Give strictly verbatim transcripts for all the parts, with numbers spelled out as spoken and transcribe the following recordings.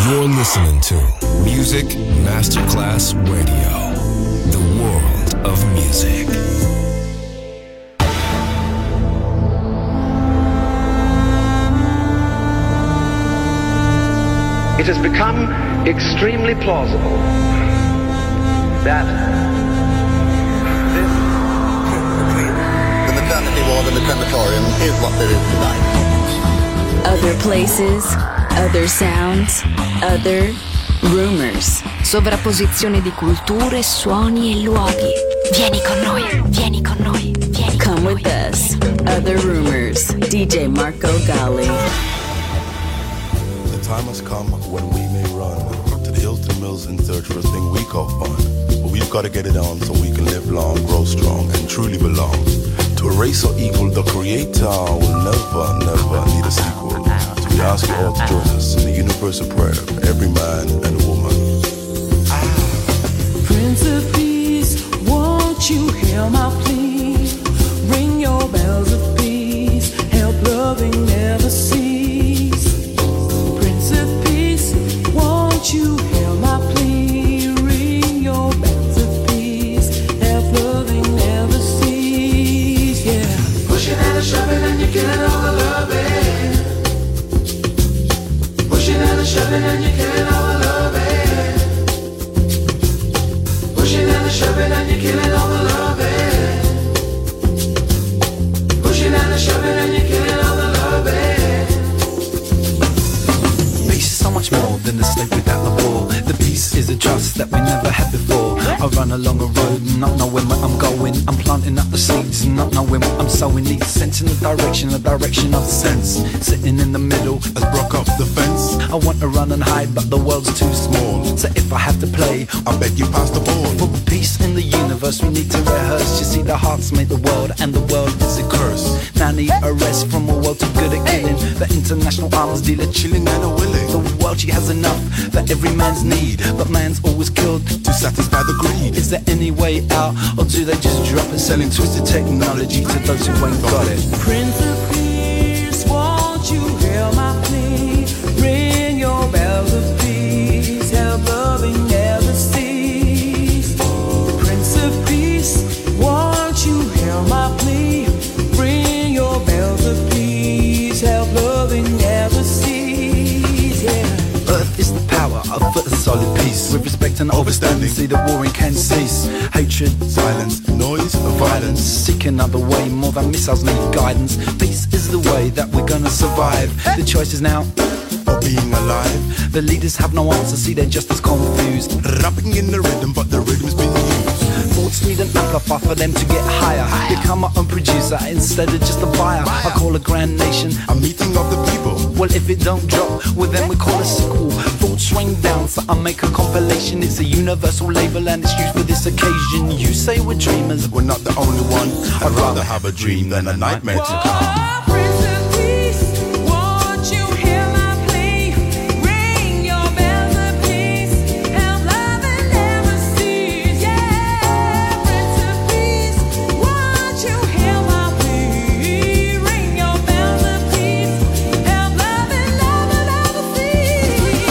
You're listening to Music Masterclass Radio, the world of music. It has become extremely plausible that the maternity ward and the crematorium is what there is tonight. Other places, other sounds, other rumors. Sovrapposizione di culture, suoni e luoghi. Vieni con noi, vieni con noi, vieni Come con noi. with us. Other rumors. D J Marco Gally. The time has come when we may run to the Hilton Mills in search for a thing we call fun. But we've got to get it on so we can live long, grow strong, and truly belong. To a race so equal, the creator will never, never need a sequel. So we ask you all to join us in the universal prayer for every man and woman. Prince of Peace, won't you hear my plea? Ring your bells of peace, help loving never cease. Prince of Peace, won't you hear my plea? Ring your bells of peace, help loving never cease. Yeah. Pushing and a shoving and you're killing all the loving. Pushing and a shoving and you're killing all the loving. Pushing and a shoving and you're killing all the loving. Pushing and a shoving and you're killing all the loving. Peace is so much more than a state without a war. The peace is a trust that we never had before. I run along a road, not knowing where I'm going. I'm planting up the seeds, not knowing what I'm sowing. Need sense in the direction, the direction of sense. Sitting in the middle, As broke up the fence, I want to run and hide, but the world's too small. So if I have to play, I bet you pass the ball. for peace in the universe, we need to rehearse. You see, the hearts made the world, and the world is a curse. Now I need a rest from a world too good at killing. The international arms dealer chilling And a willing The world, she has enough for every man's need, but man's always killed. to satisfy the greed. Is there any way out, or do they just drop it, selling twisted technology to those who ain't got it? Prince of Peace, won't you hear my plea? Ring your bells of peace, help loving never cease. Prince of Peace, won't you hear my plea? Ring your bells of peace, help loving never cease. Yeah. Earth is the power of a solid peace. With respect and overstanding, see the warring can cease. Hatred, Silence, noise, violence. seek another way, more than missiles need guidance. Peace is the way that we're gonna survive. The choice is now, For being alive, the leaders have no answer, see they're just as confused. rapping in the rhythm, but the rhythm's being used. Thoughts need an amplifier for them to get higher. Become my own producer instead of just a buyer. I call a grand nation. A meeting of the people. Well, if it don't drop, well then we call a sequel. Thoughts rain down, so I make a compilation. It's a universal label and it's used for this occasion. You say we're dreamers, We're not the only one. I'd rather have a dream than a nightmare to come. Oh, Prince of Peace, won't you hear my plea? Ring your bells of peace, help loving never cease. Yeah, Prince of Peace, won't you hear my plea? Ring your bells of peace, help loving never, never cease.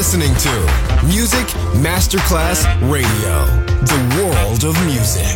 listening to Music Masterclass Radio, the world of music.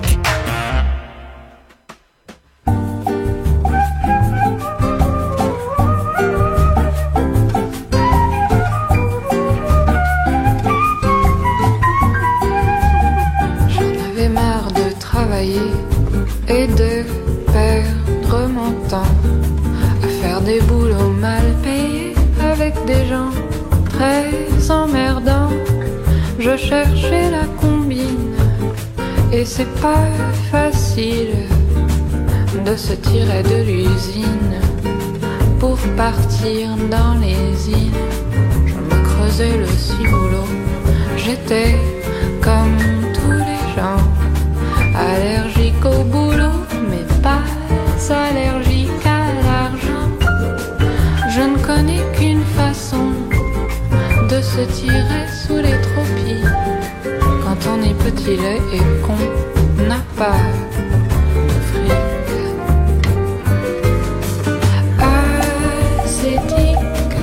J'en avais marre de travailler et de perdre mon temps à faire des boulots mal payés avec des gens très emmerdants. Je cherchais la combine et c'est pas facile de se tirer de l'usine pour partir dans les îles. Je me creusais le ciboulot, j'étais comme tous les gens, allergique au boulot mais pas allergique à l'argent. Je ne connais qu'une façon de se tirer sous les tropiques quand on est petit, laid et qu'on n'a pas de fric. Ascétique,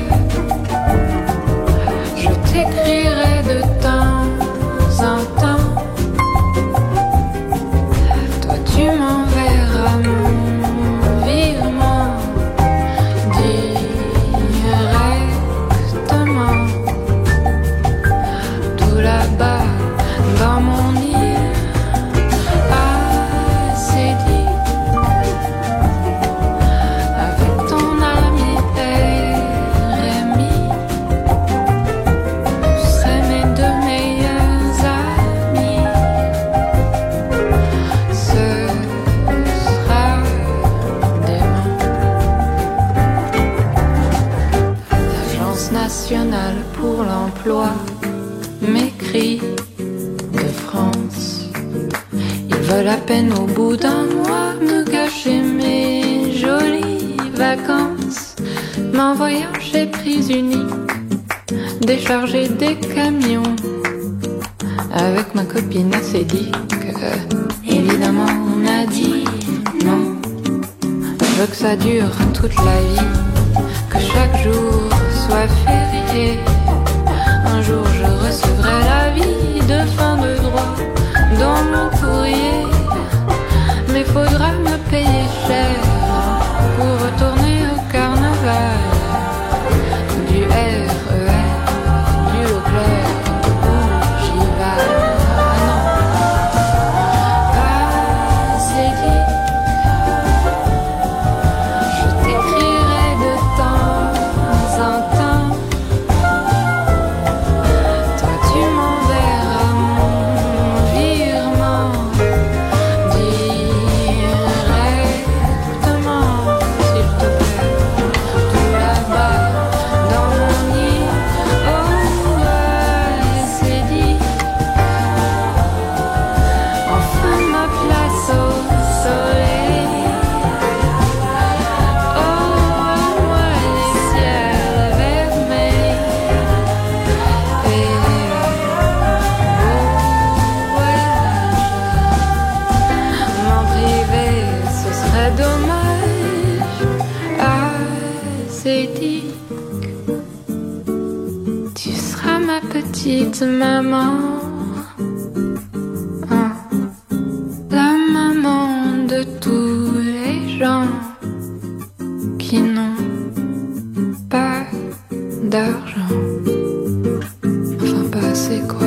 je t'écrirai de temps en temps. Toi tu m'enverras mon virement directement. Là-bas, dans mon île, assez dit, avec ton ami Rémi, vous serez mes deux meilleurs amis. Ce sera demain. L'Agence nationale pour l'emploi m'écrit de France. Ils veulent à peine au bout d'un mois me gâcher mes jolies vacances. M'envoyant chez Prise Unique décharger des camions avec ma copine acédique. Évidemment on a dit non. Je veux que ça dure toute la vie, que chaque jour soit férié. Un jour je recevrai l'avis de fin de droit dans mon courrier. Mais faudra me payer cher pour retourner au carnaval. Du R E R, du Leclerc, où j'y vais. Ah non, c'est dit. Je t'écrirai de temps en temps. Petite maman, hein, la maman de tous les gens qui n'ont pas d'argent, enfin pas assez quoi.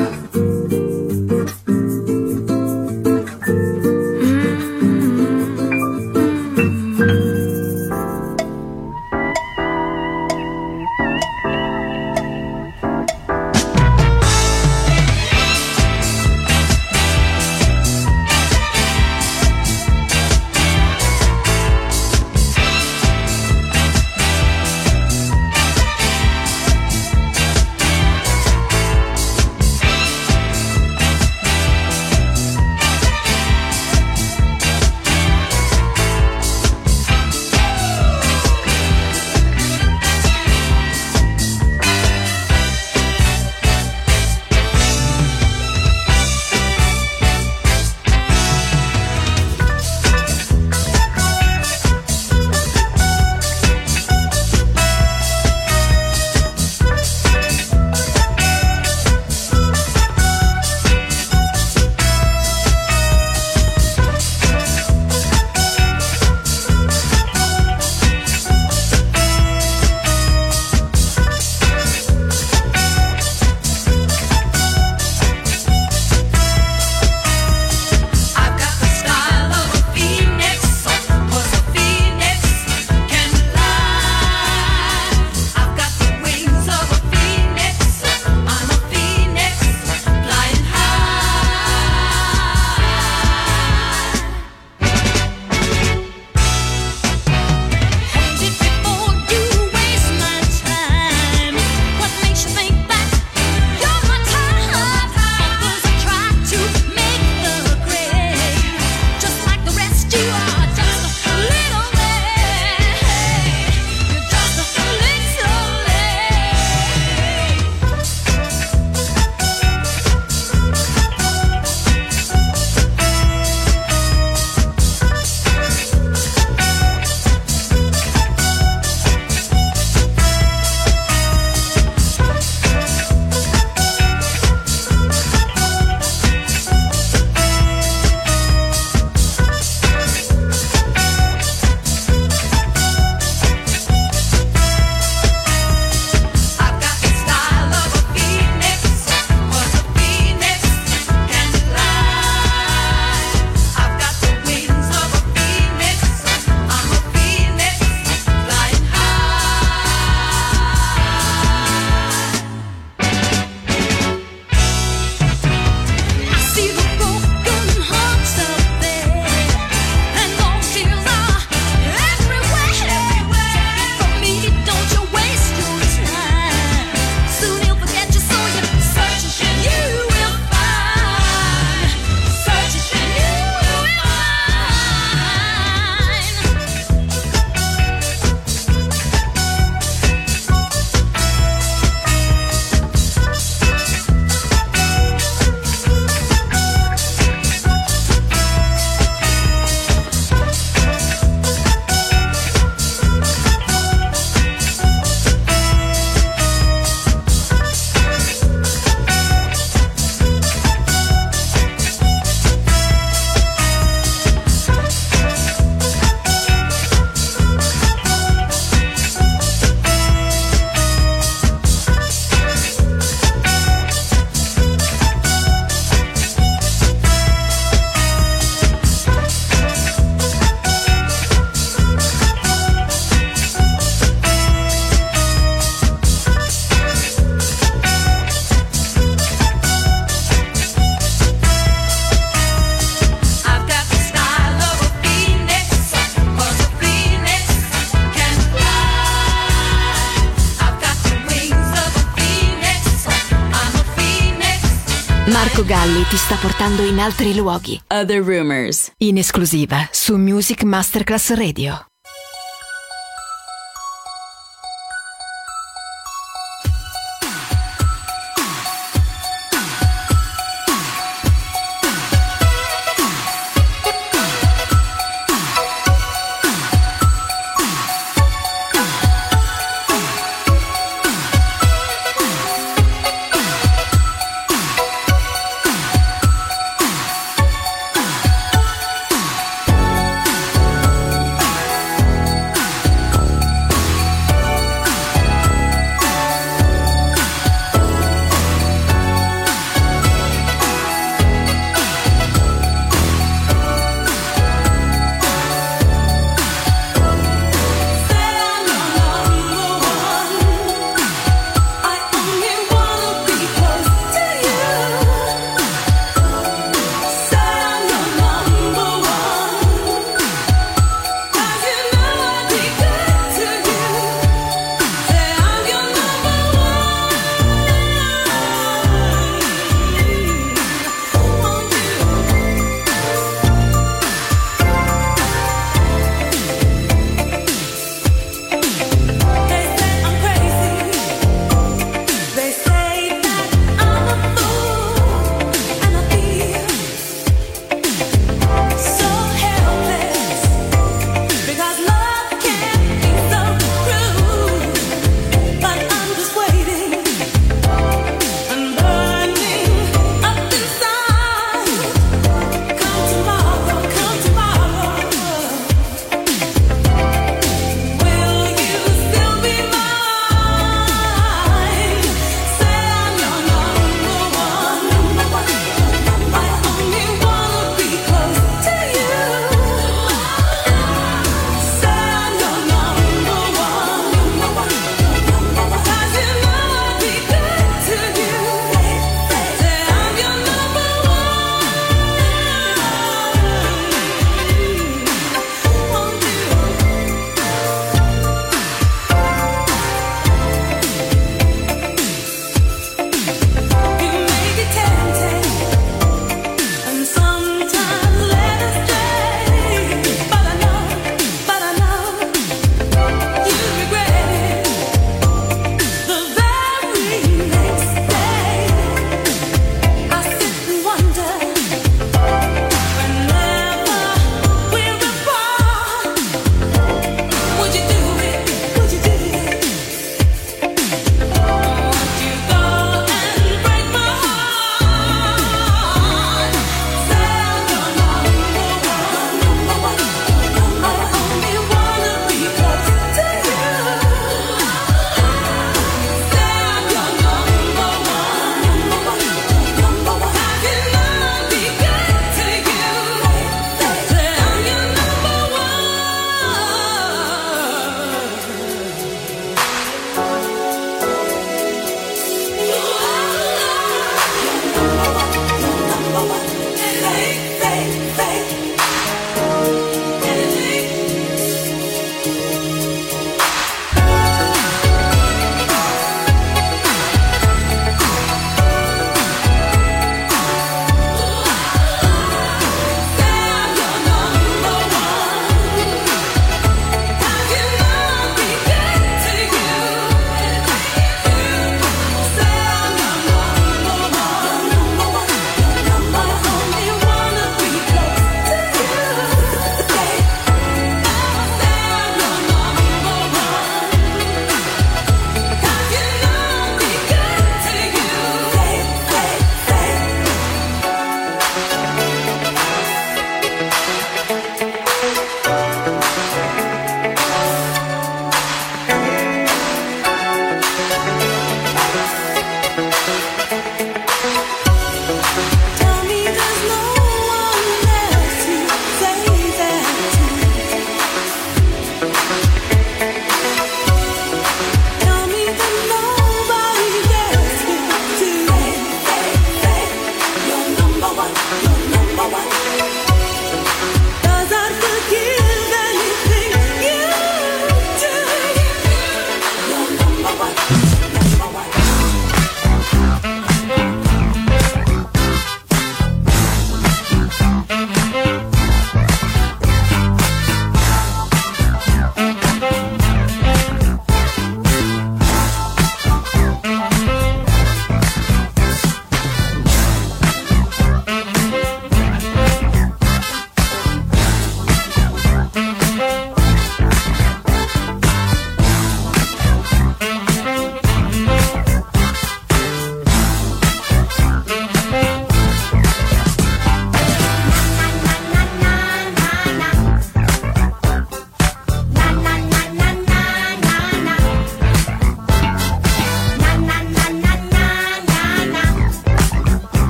Marco Galli ti sta portando in altri luoghi. Other Rumors. In esclusiva su Music Masterclass Radio.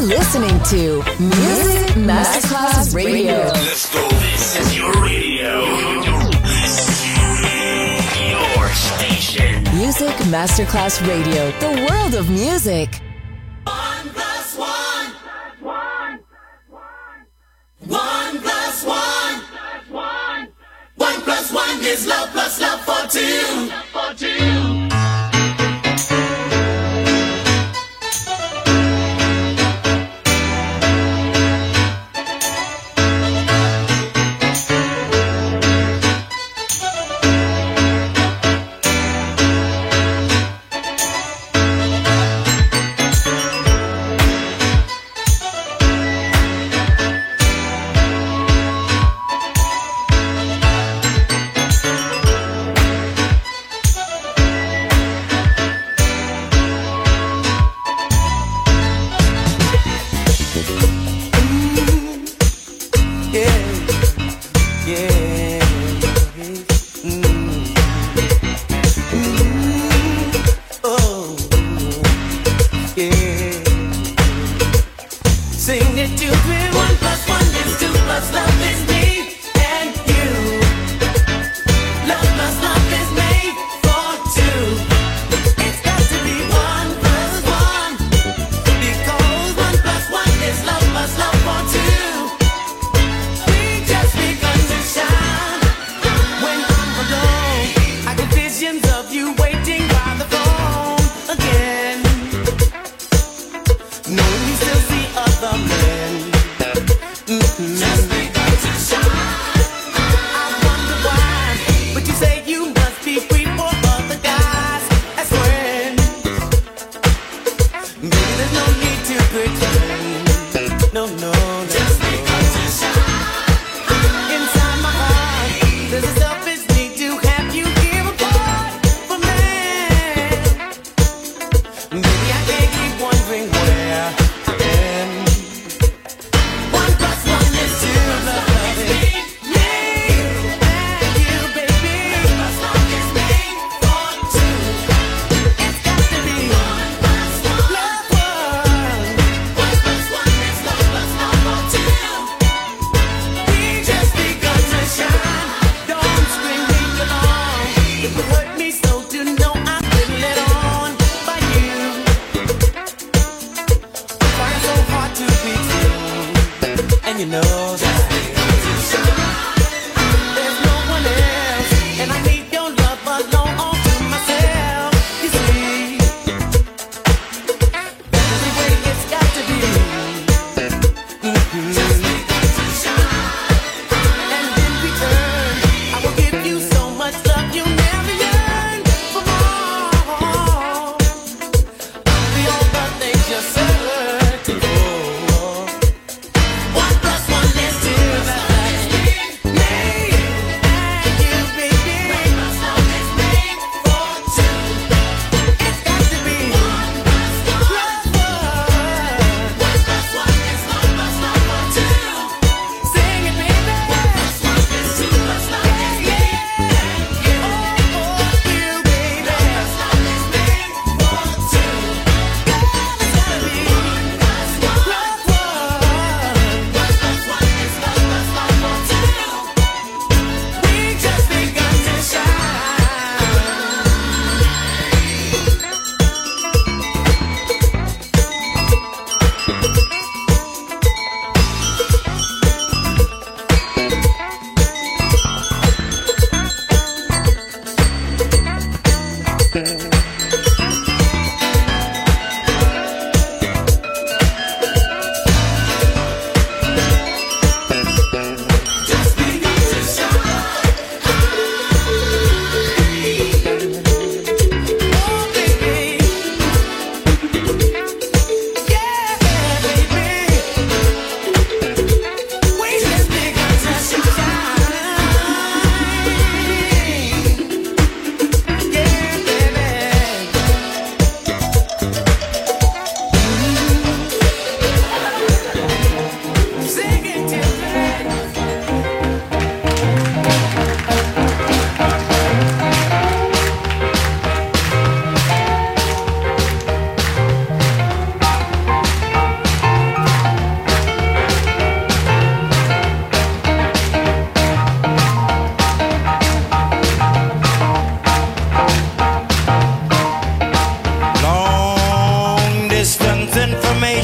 You're listening to Music Masterclass Radio. Let's go. This is your radio. Your station. Music Masterclass Radio. The world of music. One plus one. One. One plus one. One plus one is love plus love for two. For two.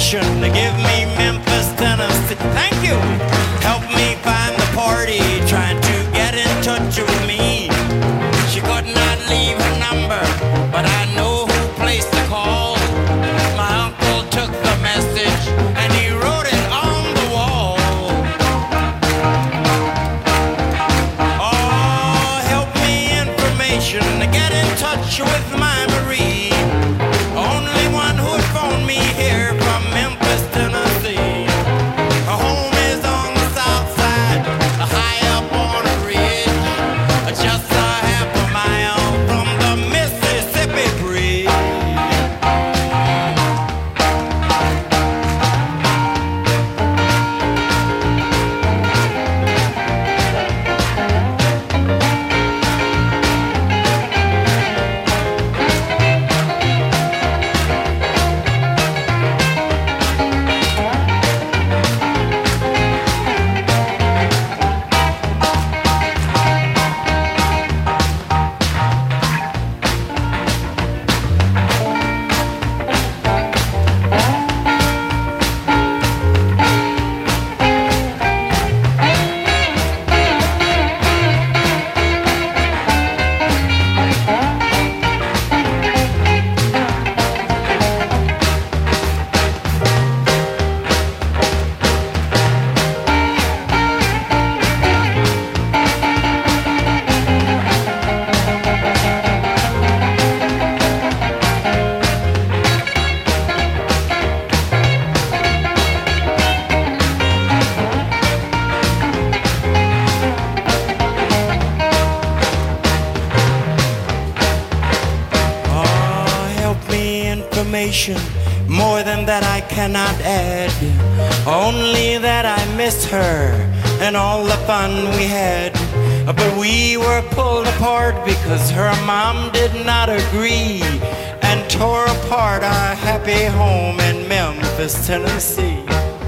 information to give me Memphis, Tennessee. Thank you. Help me find the party trying to get in touch with me. She could not leave her number, but I know who placed the call. My uncle took the message and he wrote it on the wall. Oh, help me information to get in touch with my Marie. Only one who'd phone me here from Memphis, Tennessee. Her home is on the south side, high up on a ridge, just a half a mile from the Mississippi Bridge. More than that I cannot add, only that I miss her and all the fun we had. But we were pulled apart because her mom did not agree and tore apart our happy home in Memphis, Tennessee.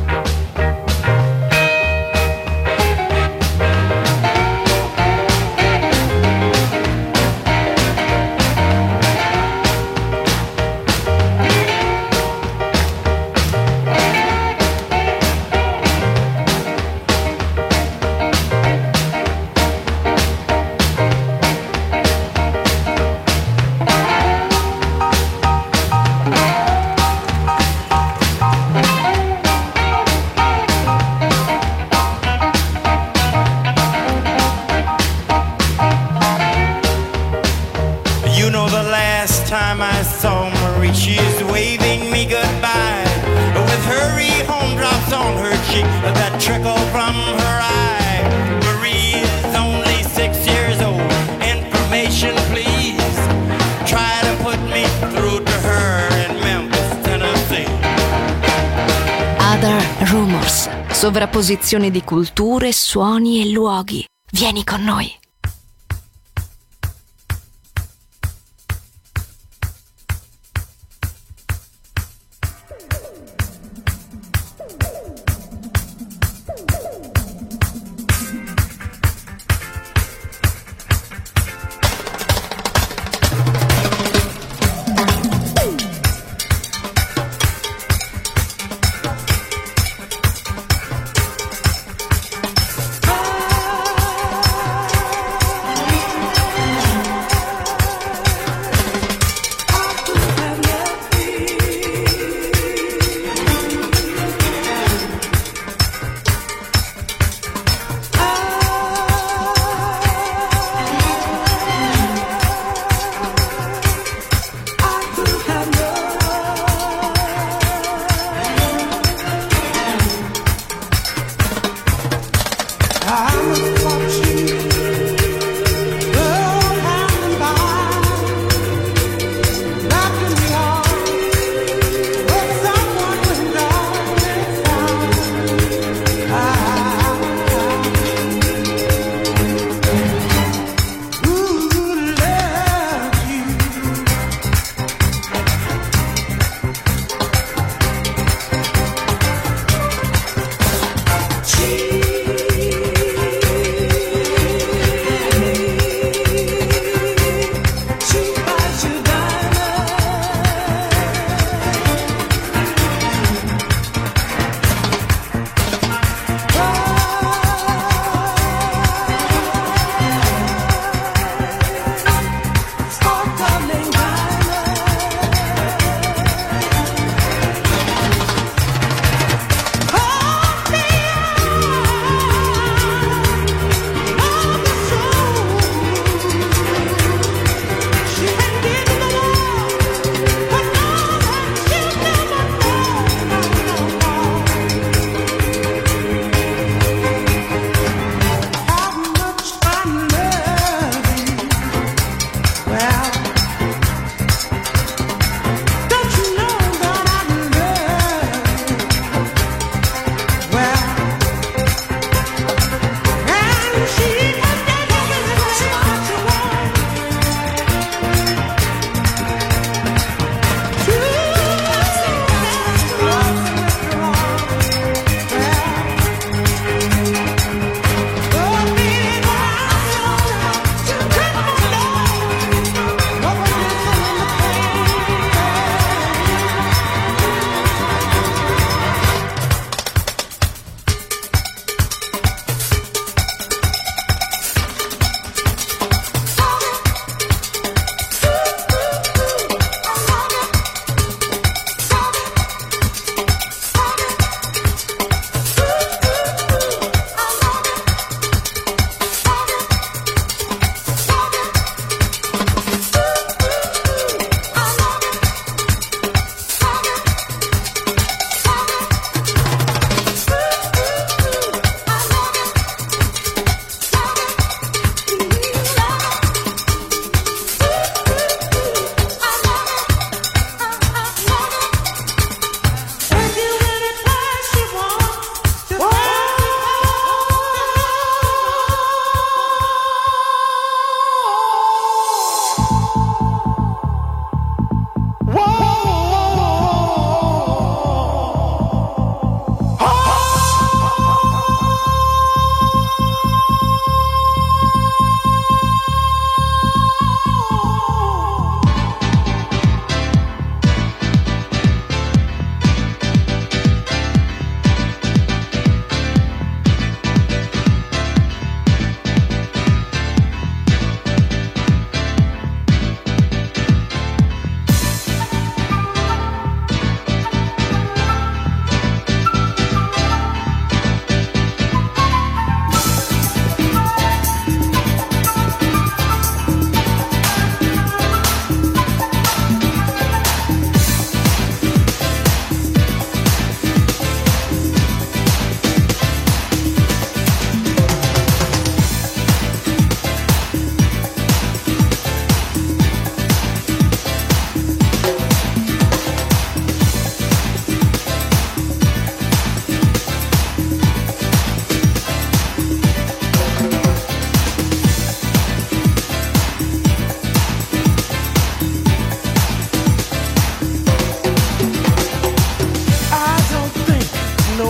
Sovrapposizione di culture, suoni e luoghi. Vieni con noi.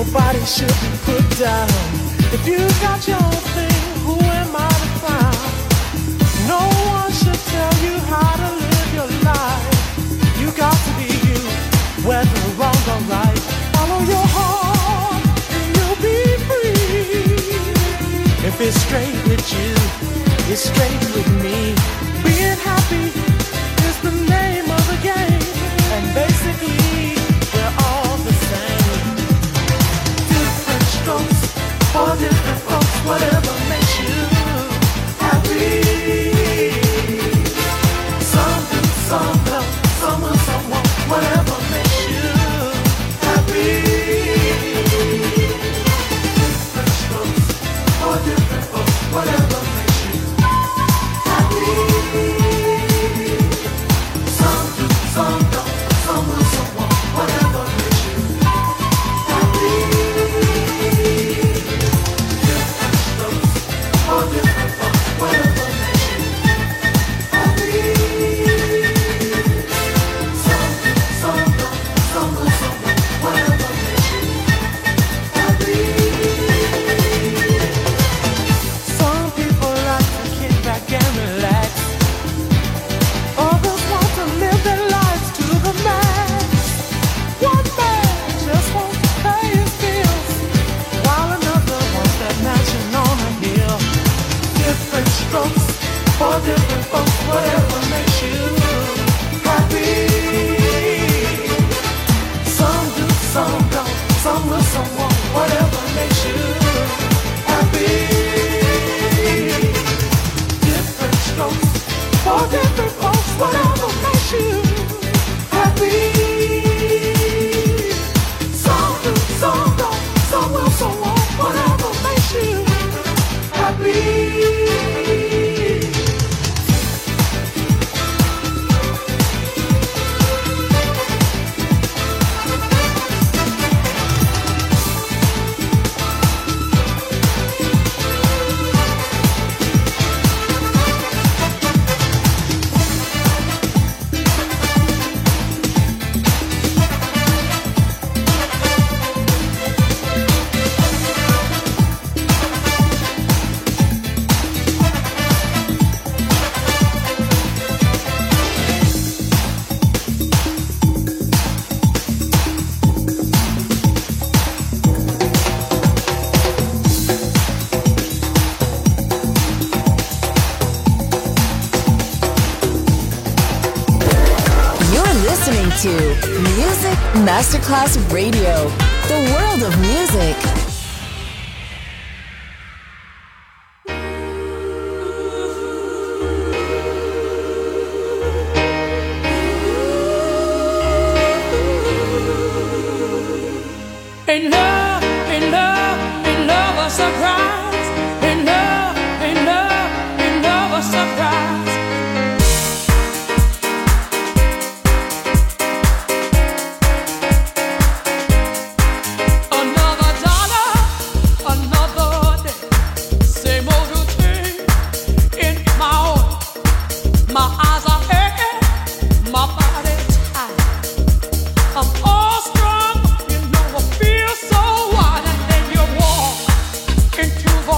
nobody should be put down. If you got your own thing, who am I to frown? No one should tell you how to live your life. You got to be you, whether wrong or right. Follow your heart and you'll be free. If it's straight with you, it's straight with me. Being happy is the name of the game, and basically we're all the same. Different strokes for different folks, whatever makes you happy. Some do, some don't, some will, some won't, whatever makes you happy. Different strokes for different folks, whatever makes you happy. Some do, some don't, some will, some won't, whatever makes you happy. Different strokes for different folks, whatever makes you happy. Some do, some don't, some will, some won't, whatever makes you happy. Some people like to kick back and relax. Others want to live their lives to the max. One man just wants to pay his bills, while another wants that mansion on a hill. Different strokes for different folks, whatever makes you happy. Some do, some don't, some will, some won't, whatever makes you happy. Different strokes for different folks, whatever makes you happy. Some do, some don't, some will, some won't, whatever makes you happy. Listening to Music Masterclass Radio, the world of music. Ain't love, ain't love, ain't love a surprise. Ain't love, ain't love, ain't love a surprise. Another dollar, another day. Same old routine in my own. My eyes are aching, my body tired. I'm all strong, you know I feel so wild, and then you walk into the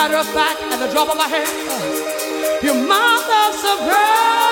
matter of fact, at the drop of a hat, your mother's surprise.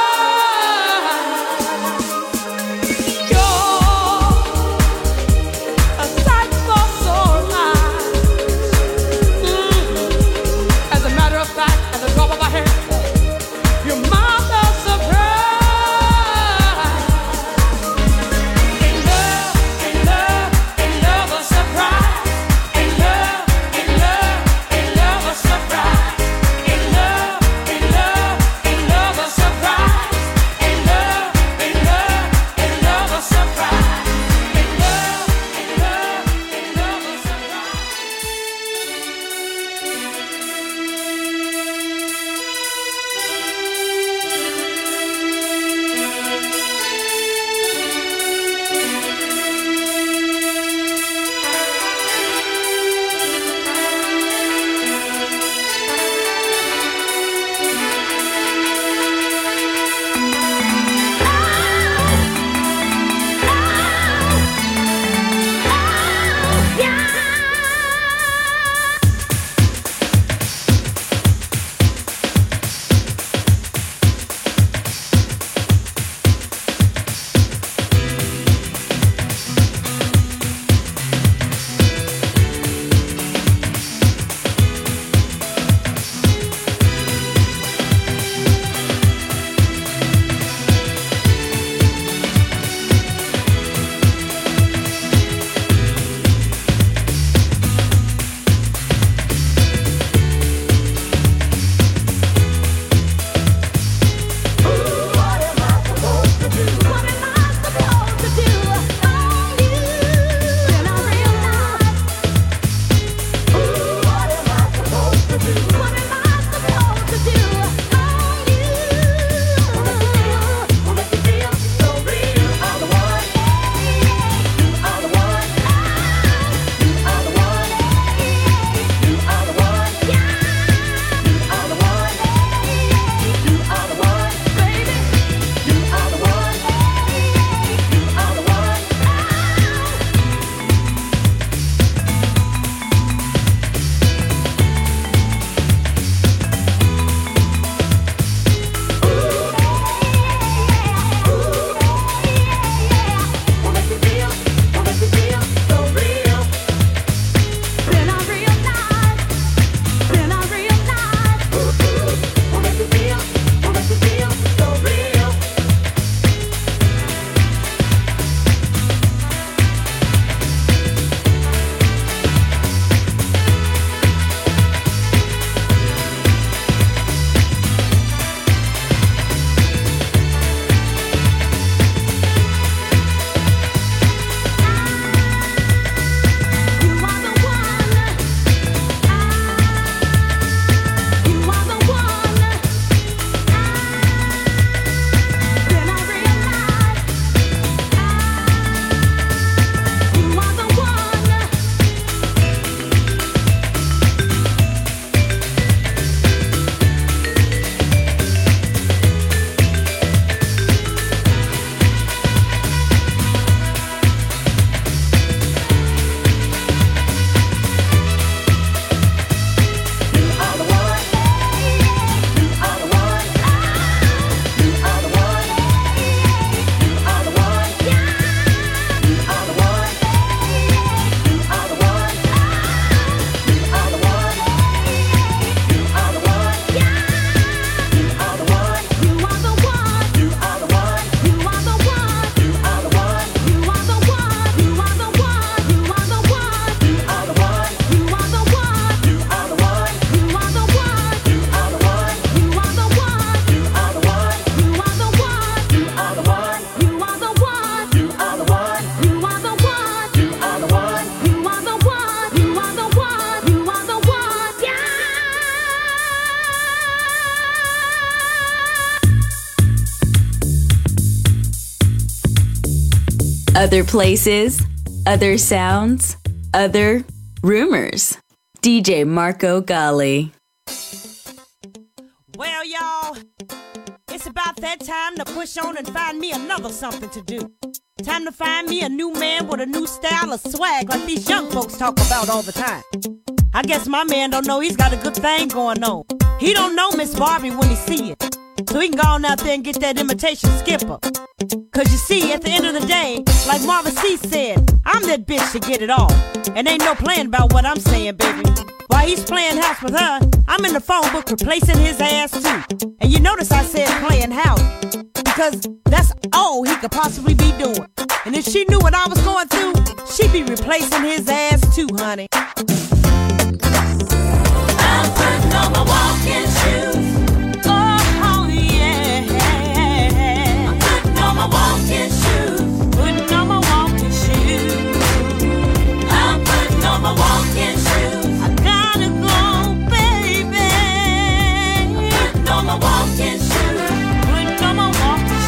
Other places, other sounds, other rumors. D J Marco Gally. Well, y'all, it's about that time to push on and find me another something to do. Time to find me a new man with a new style of swag like these young folks talk about all the time. I guess my man don't know he's got a good thing going on. He don't know Miss Barbie when he see it. So he can go on out there and get that imitation skipper. Cause you see, at the end of the day, like Marvin C said, I'm that bitch to get it all. And ain't no playing about what I'm saying, baby. While he's playing house with her, I'm in the phone book replacing his ass too. And you notice I said playing house, because that's all he could possibly be doing. And if she knew what I was going through, she'd be replacing his ass too, honey. I'm putting on my walking shoes. Oh, yeah. I'm putting on my walking shoes. Putting on my walking shoes. I'm putting on my walking shoes. I gotta go, baby. I'm putting on my walking shoes. Putting on my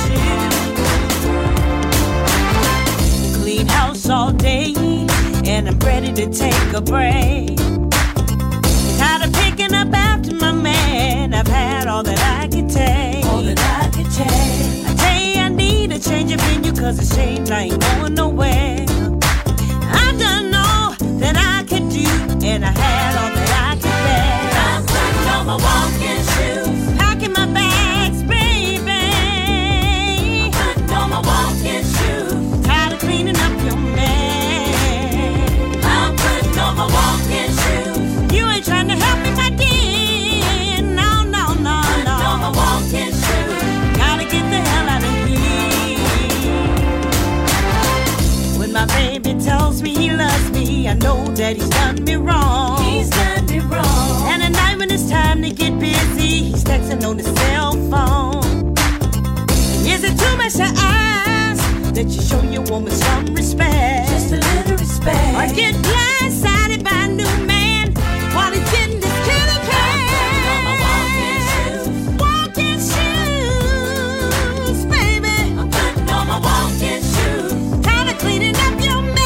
walking shoes. Clean house all day, and I'm ready to take a break. Tired of picking up after my man. I've had all that I could take. All that I could take. I tell you I need a change of venue, cause it's changed, I ain't going nowhere. I've done all that I could do, and I had all that I could bear. I'm putting on my walking shoes. Packing my bags, baby. I'm putting on my walking shoes. Tired of cleaning up your mess. I'm putting on my walking shoes. You ain't trying to help me, my dear. No, no, no, no. On my walking shoes. Gotta get the hell out of here. When my baby tells me he loves me, I know that he's done me wrong. He's done me wrong. And at night when it's time to get busy, he's texting on his cell phone. Is it too much to ask that you show your woman some respect? Just a little respect. Or get blindsided by a new man while he's getting this kitty cat? On my walking shoes. Walking shoes, baby. I'm putting on my walking shoes. Tired of cleaning up your mess.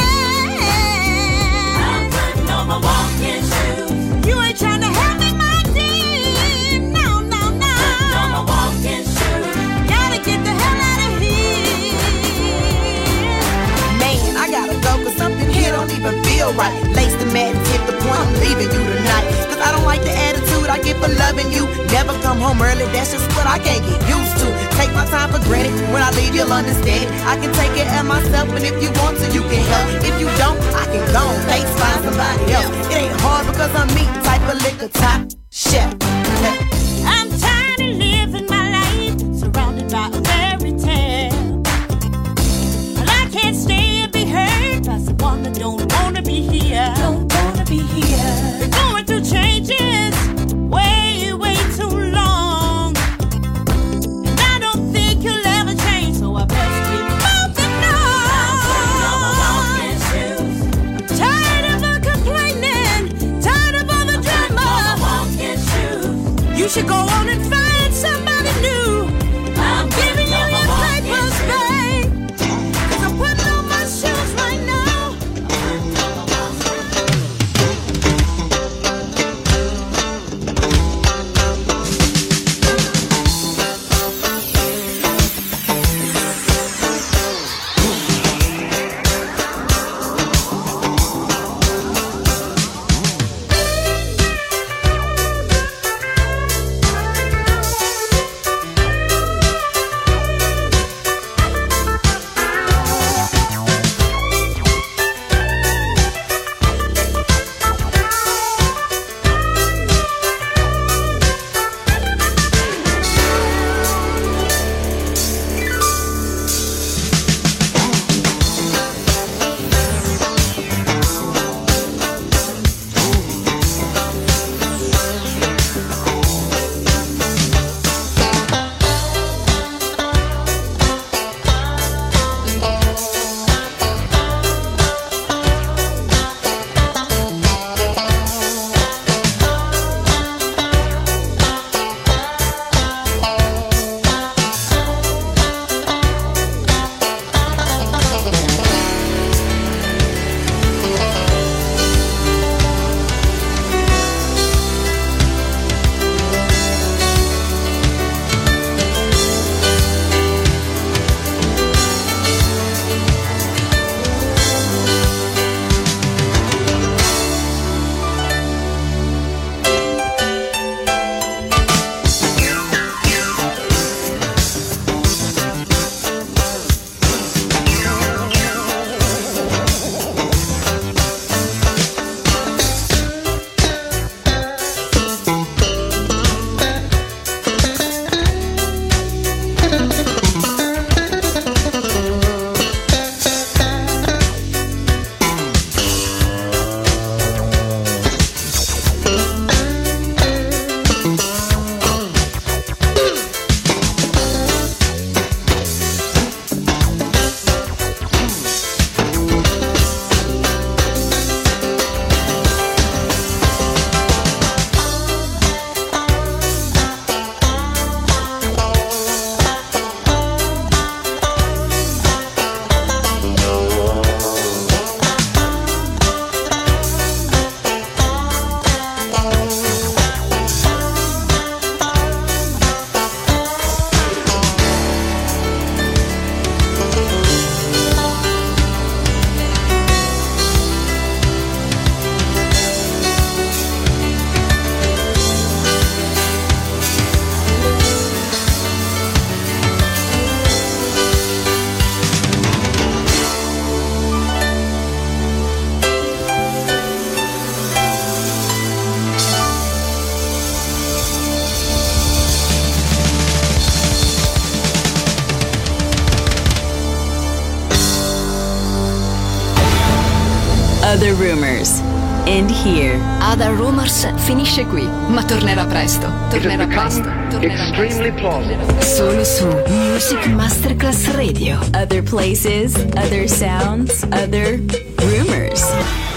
I'm putting on my walking shoes. You ain't trying to help me, my dear. No, no, no. Putting on my walking shoes. Gotta get the hell out of here. Man, I gotta go, cause something here don't even feel right. Lace the mat and tip the point, I'm leaving you tonight. Cause I don't like the attitude I get for loving you. Never come home early, that's just what I can't get used to. Take my time for granted, when I leave you'll understand. I can take care of myself, and if you want to, you can help. If you don't, I can go on dates, find somebody else. It ain't hard because I'm me, type of liquor, top chef. I'm tired of living my life surrounded by a fairy tale. But I can't stay and be hurt by someone that don't wanna be here. Don't wanna be here. Been going through changes way, way too long. And I don't think you'll ever change, so I best be moving on. On my walking shoes. Tired of her complaining, tired of all the drama. On my walking shoes. Other Rumors. End here. Other Rumors finisce qui, ma tornerà presto. Tornerà presto. Tornerà extremely plausible. Solo su Music Masterclass Radio. Other places, other sounds, other rumors.